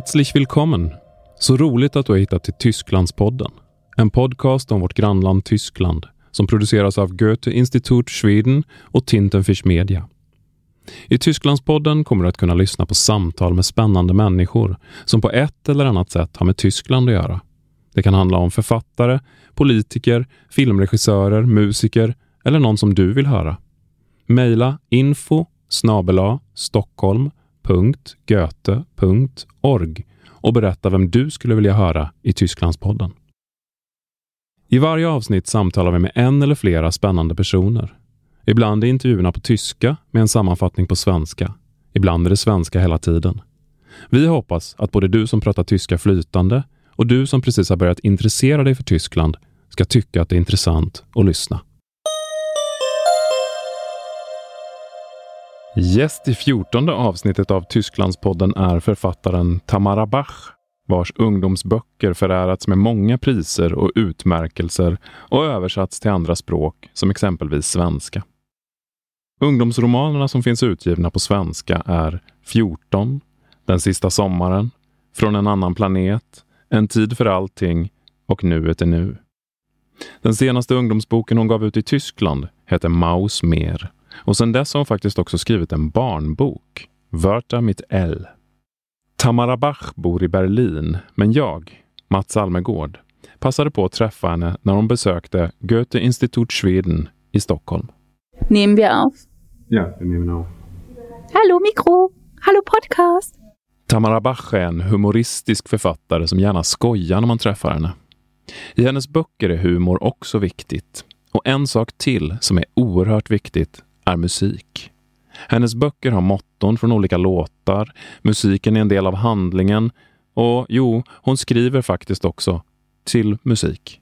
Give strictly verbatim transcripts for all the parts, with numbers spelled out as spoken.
Herzlich willkommen! Så roligt att du har hittat till Tysklandspodden. En podcast om vårt grannland Tyskland som produceras av Goethe-Institut Schweden och Tintenfisch Media. I Tysklandspodden kommer du att kunna lyssna på samtal med spännande människor som på ett eller annat sätt har med Tyskland att göra. Det kan handla om författare, politiker, filmregissörer, musiker eller någon som du vill höra. Maila info snabel-a stockholm punkt goethe punkt org och berätta vem du skulle vilja höra i Tysklandspodden. I varje avsnitt samtalar vi med en eller flera spännande personer. Ibland är intervjuerna på tyska med en sammanfattning på svenska. Ibland är det svenska hela tiden. Vi hoppas att både du som pratar tyska flytande och du som precis har börjat intressera dig för Tyskland ska tycka att det är intressant att lyssna. Gäst i fjortonde avsnittet av Tysklandspodden är författaren Tamara Bach, vars ungdomsböcker förärats med många priser och utmärkelser och översatts till andra språk, som exempelvis svenska. Ungdomsromanerna som finns utgivna på svenska är fjorton, Den sista sommaren, Från en annan planet, En tid för allting och Nuet är nu. Den senaste ungdomsboken hon gav ut i Tyskland heter Maus Meer. Och sedan dess har hon faktiskt också skrivit en barnbok, Wörter mit L. Tamara Bach bor i Berlin, men jag, Mats Almegård, passade på att träffa henne när hon besökte Goethe-Institut Schweden i Stockholm. Nehmen wir auf? Ja, vi nehmen auf. Hallo Mikro, hallo podcast. Tamara Bach är en humoristisk författare som gärna skojar när man träffar henne. I hennes böcker är humor också viktigt. Och en sak till som är oerhört viktigt är musik. Hennes böcker har motton från olika låtar, musiken är en del av handlingen och jo, hon skriver faktiskt också till musik.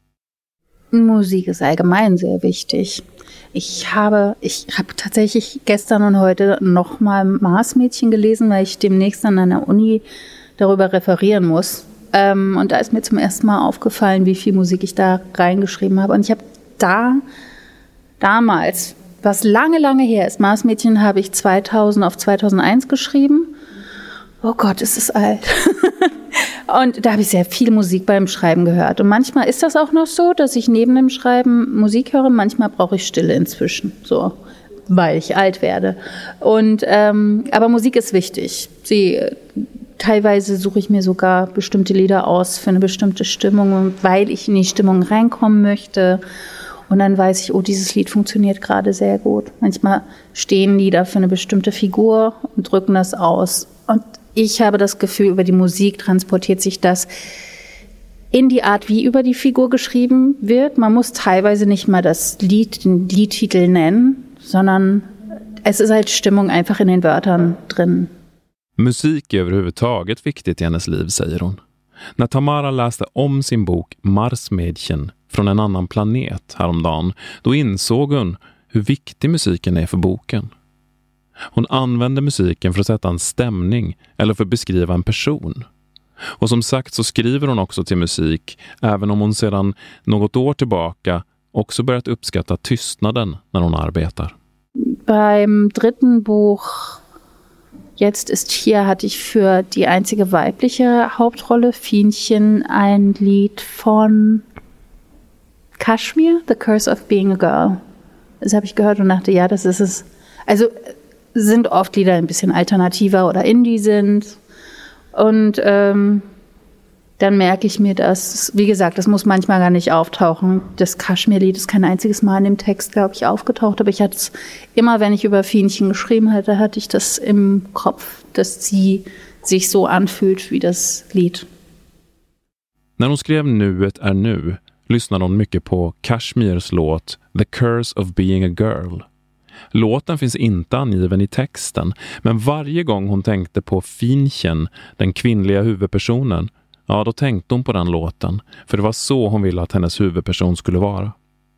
Musik ist allgemein sehr wichtig. Ich habe, ich habe tatsächlich gestern und heute nochmal Marsmädchen gelesen, weil ich demnächst an einer Uni darüber referieren muss. Ähm, und da ist mir zum ersten Mal aufgefallen, wie viel Musik ich da reingeschrieben habe. Und ich habe da, damals, was lange, lange her ist, Marsmädchen habe ich zweitausend auf zweitausendeins geschrieben. Oh Gott, ist es alt. Und da habe ich sehr viel Musik beim Schreiben gehört. Und manchmal ist das auch noch so, dass ich neben dem Schreiben Musik höre. Manchmal brauche ich Stille inzwischen, so, weil ich alt werde. Und, ähm, aber Musik ist wichtig. Sie, teilweise suche ich mir sogar bestimmte Lieder aus für eine bestimmte Stimmung, weil ich in die Stimmung reinkommen möchte. Und dann weiß ich, oh, dieses Lied funktioniert gerade sehr gut. Manchmal stehen Lieder für eine bestimmte Figur und drücken das aus. Und ich habe das Gefühl, über die Musik transportiert sich das in die Art, wie über die Figur geschrieben wird. Man muss teilweise nicht mal das Lied, den Liedtitel nennen, sondern es ist halt Stimmung einfach in den Wörtern drin. Musik är överhuvudtaget viktigt i hennes liv, säger hon. När Tamara läste om sin bok Marsmädchen från en annan planet häromdagen, då insåg hon hur viktig musiken är för boken. Hon använder musiken för att sätta en stämning eller för att beskriva en person. Och som sagt så skriver hon också till musik, även om hon sedan något år tillbaka också börjat uppskatta tystnaden när hon arbetar. Beim dritten Buch Jetzt ist hier hatte ich für die einzige weibliche Hauptrolle, Fienchen, ein Lied von Kashmir, The Curse of Being a Girl. Das habe ich gehört und dachte, ja, das ist es. Also sind oft Lieder ein bisschen alternativer oder Indie sind. Und ähm, dann merke ich mir das, wie gesagt, das muss manchmal gar nicht auftauchen. Das Kashmir-Lied ist kein einziges Mal in dem Text, glaube ich, aufgetaucht. Aber ich hatte es immer, wenn ich über Fienchen geschrieben hatte, hatte ich das im Kopf, dass sie sich so anfühlt wie das Lied. När hon skrev Nuet är nu lyssnade hon mycket på Kashmirs låt The Curse of Being a Girl. Låten finns inte angiven i texten, men varje gång hon tänkte på Fienchen, den kvinnliga huvudpersonen, ja, då tänkte hon på den låten, för det var så hon ville att hennes huvudperson skulle vara.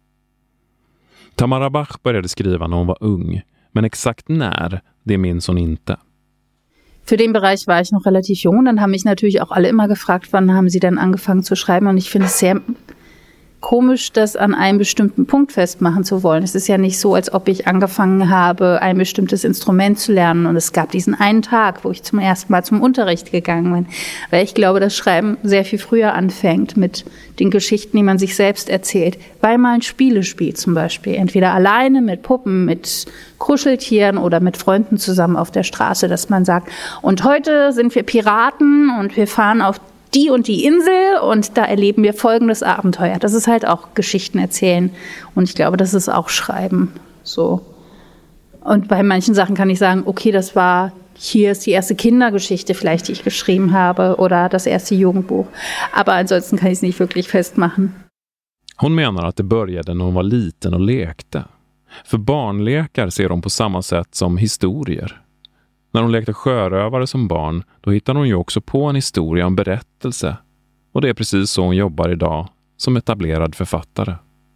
Tamara Bach började skriva när hon var ung, men exakt när, det minns hon inte. Für den Bereich war ich noch relativ jung, dann haben mich natürlich auch alle immer gefragt, wann haben Sie denn angefangen zu schreiben, und ich finde es sehr komisch, das an einem bestimmten Punkt festmachen zu wollen. Es ist ja nicht so, als ob ich angefangen habe, ein bestimmtes Instrument zu lernen und es gab diesen einen Tag, wo ich zum ersten Mal zum Unterricht gegangen bin. Weil ich glaube, das Schreiben sehr viel früher anfängt mit den Geschichten, die man sich selbst erzählt. Weil man Spiele spielt zum Beispiel. Entweder alleine mit Puppen, mit Kuscheltieren oder mit Freunden zusammen auf der Straße, dass man sagt, und heute sind wir Piraten und wir fahren auf die und die Insel und da erleben wir folgendes Abenteuer. Das ist halt auch Geschichten erzählen und ich glaube, das ist auch Schreiben. So. Und bei manchen Sachen kann ich sagen, okay, das war, hier ist die erste Kindergeschichte vielleicht, die ich geschrieben habe oder das erste Jugendbuch. Aber ansonsten kann ich es nicht wirklich festmachen. Hon menar att det började när hon var liten och lekte. För barnlekar ser hon på samma sätt som historier. När hon lekte sjörövare som barn, då hittade hon ju också på en historia, en berättelse. Och det är precis så hon jobbar idag, som etablerad författare.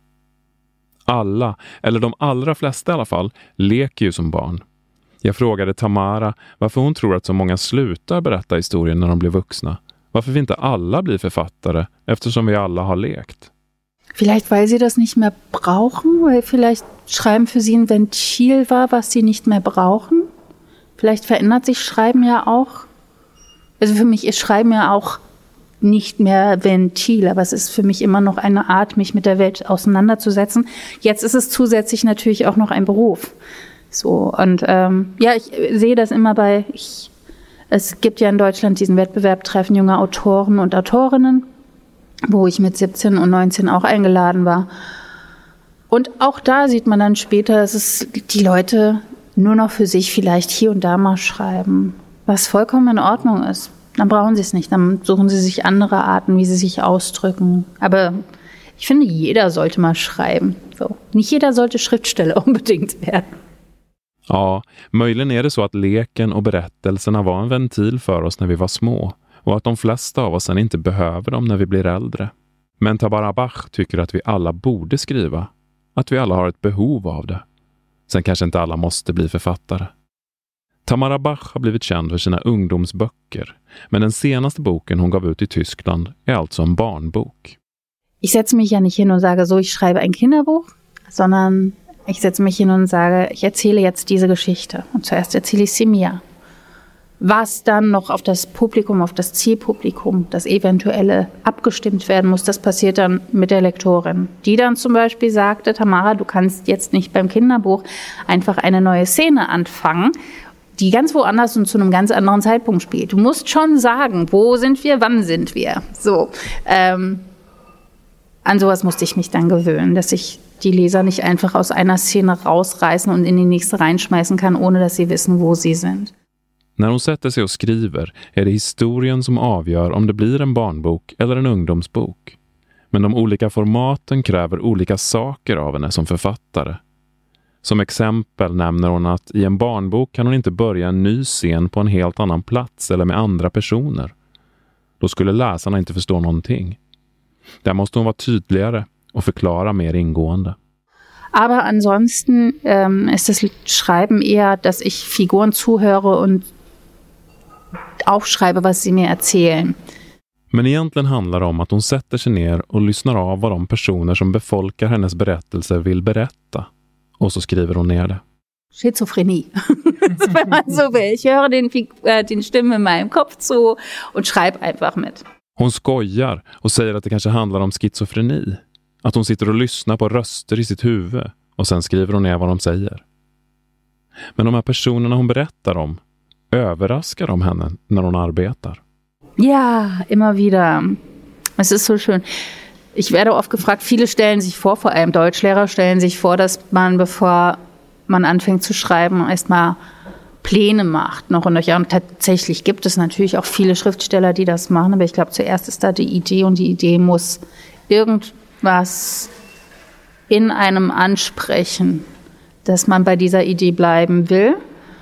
Alla, eller de allra flesta i alla fall, leker ju som barn. Jag frågade Tamara varför hon tror att så många slutar berätta historien när de blir vuxna. Varför vi inte alla blir författare, eftersom vi alla har lekt. Vielleicht, weil sie das nicht mehr brauchen, weil vielleicht Schreiben für sie ein Ventil war, was sie nicht mehr brauchen. Vielleicht verändert sich Schreiben ja auch. Also für mich ist Schreiben ja auch nicht mehr Ventil, aber es ist für mich immer noch eine Art, mich mit der Welt auseinanderzusetzen. Jetzt ist es zusätzlich natürlich auch noch ein Beruf. So, und ähm, ja, ich sehe das immer bei, ich, es gibt ja in Deutschland diesen Wettbewerb Treffen junger Autoren und Autorinnen, wo ich mit siebzehn und neunzehn auch eingeladen war. Und auch da sieht man dann später, dass es die Leute nur noch für sich vielleicht hier und da mal schreiben, was vollkommen in Ordnung ist. Dann brauchen sie es nicht, dann suchen sie sich andere Arten, wie sie sich ausdrücken. Aber ich finde, jeder sollte mal schreiben. So. Nicht jeder sollte Schriftsteller unbedingt werden. Ja, möjligen är det så att leken och berättelserna var en ventil för oss när vi var små och att de flesta av oss sen inte behöver dem när vi blir äldre. Men Tamara Bach tycker att vi alla borde skriva, att vi alla har ett behov av det. Sen kanske inte alla måste bli författare. Tamara Bach har blivit känd för sina ungdomsböcker, men den senaste boken hon gav ut i Tyskland är alltså en barnbok. Ich setze mich ja nicht hin und sage so, ich schreibe ein Kinderbuch, sondern ich setze mich hin und sage, ich erzähle jetzt diese Geschichte. Und zuerst erzähle ich sie mir. Was dann noch auf das Publikum, auf das Zielpublikum, das Eventuelle abgestimmt werden muss, das passiert dann mit der Lektorin. Die dann zum Beispiel sagte, Tamara, du kannst jetzt nicht beim Kinderbuch einfach eine neue Szene anfangen, die ganz woanders und zu einem ganz anderen Zeitpunkt spielt. Du musst schon sagen, wo sind wir, wann sind wir. So, ähm, an sowas musste ich mich dann gewöhnen, dass ich die Leser nicht einfach aus einer Szene rausreißen und in die nächste reinschmeißen kann, ohne dass sie wissen, wo sie sind. När hon sätter sig och skriver är det historien som avgör om det blir en barnbok eller en ungdomsbok. Men de olika formaten kräver olika saker av henne som författare. Som exempel nämner hon att i en barnbok kan hon inte börja en ny scen på en helt annan plats eller med andra personer. Då skulle läsarna inte förstå någonting. Där måste hon vara tydligare och förklara mer ingående. Aber ansonsten ähm, ist das Schreiben eher, dass ich Figuren zuhöre und aufschreibe, was sie mir erzählen. Men egentligen handlar det om att hon sätter sig ner och lyssnar av vad de personer som befolkar hennes berättelser vill berätta. Och så skriver hon ner det. Schizophrenie, wenn man so will. Ich höre den, äh, den Stimmen in meinem Kopf zu und schreibe einfach mit. Hon skojar och säger att det kanske handlar om schizofreni. Att hon sitter och lyssnar på röster i sitt huvud och sen skriver hon ner vad de säger. Men de här personerna hon berättar om, överraskar de henne när hon arbetar? Ja, immer wieder. Es ist so schön. Ich werde oft gefragt, viele stellen sich vor, vor allem Deutschlehrer stellen sich vor, dass man, bevor man anfängt zu schreiben, erstmal Pläne macht noch und nöcher. Und tatsächlich gibt es natürlich auch viele Schriftsteller, die das machen, aber ich glaube, zuerst ist da die Idee und die Idee muss irgendwas in einem ansprechen, dass man bei dieser Idee bleiben will,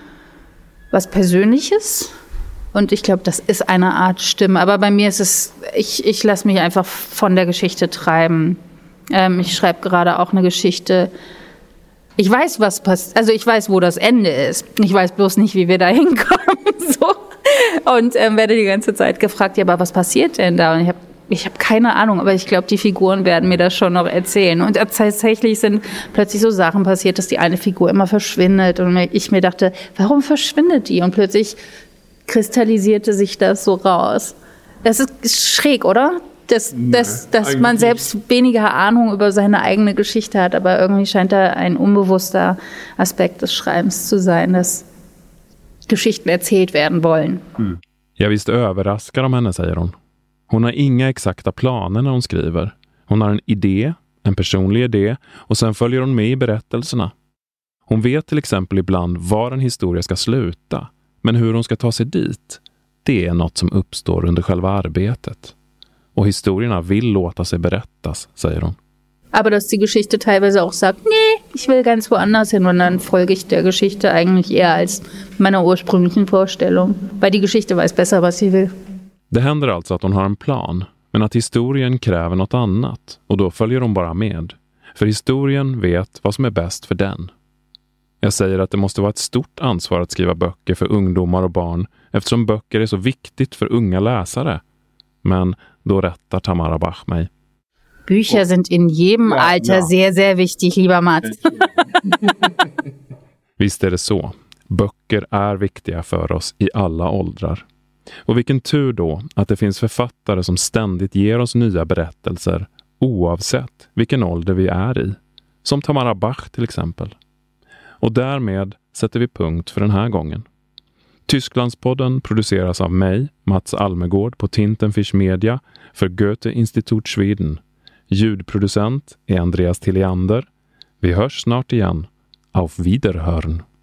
was Persönliches. Und ich glaube, das ist eine Art Stimme. Aber bei mir ist es, ich, ich lasse mich einfach von der Geschichte treiben. Ähm, ich schreibe gerade auch eine Geschichte. Ich weiß, was passiert. Also ich weiß, wo das Ende ist. Ich weiß bloß nicht, wie wir da hinkommen. So. Und ähm, werde die ganze Zeit gefragt, ja, aber was passiert denn da? Und ich habe ich habe keine Ahnung, aber ich glaube, die Figuren werden mir das schon noch erzählen. Und tatsächlich sind plötzlich so Sachen passiert, dass die eine Figur immer verschwindet. Und ich mir dachte, warum verschwindet die? Und plötzlich kristallisierte sich das so raus. Das ist schräg, oder? Dass, nee, dass, dass man selbst weniger Ahnung über seine eigene Geschichte hat, aber irgendwie scheint da ein unbewusster Aspekt des Schreibens zu sein, dass Geschichten erzählt werden wollen. Mm. Ja, visst överraskar de henne, säger hon. Hon har inga exakta planer när hon skriver. Hon har en idé, en personlig idé, och sen följer hon med i berättelserna. Hon vet till exempel ibland var en historia ska sluta, men hur hon ska ta sig dit, det är något som uppstår under själva arbetet. Och historierna vill låta sig berättas, säger hon. Aber dass die Geschichte teilweise auch sagt, nee, ich will ganz woanders hin, und dann folge ich der Geschichte eigentlich eher als meiner ursprünglichen Vorstellung, weil die Geschichte weiß besser, was sie will. Det händer alltså att hon har en plan, men att historien kräver något annat, och då följer hon bara med. För historien vet vad som är bäst för den. Jag säger att det måste vara ett stort ansvar att skriva böcker för ungdomar och barn, eftersom böcker är så viktigt för unga läsare. Men då rättar Tamara Bach mig. Bücher sind in jedem ja, Alter ja. sehr, sehr wichtig, lieber Mats. Visst är det så. Böcker är viktiga för oss i alla åldrar. Och vilken tur då att det finns författare som ständigt ger oss nya berättelser oavsett vilken ålder vi är i. Som Tamara Bach till exempel. Och därmed sätter vi punkt för den här gången. Tysklandspodden produceras av mig, Mats Almegård på Tintenfisch Media för Goethe Institut Schweden. Ljudproducent är Andreas Tilliander. Vi hörs snart igen. Auf Wiederhören.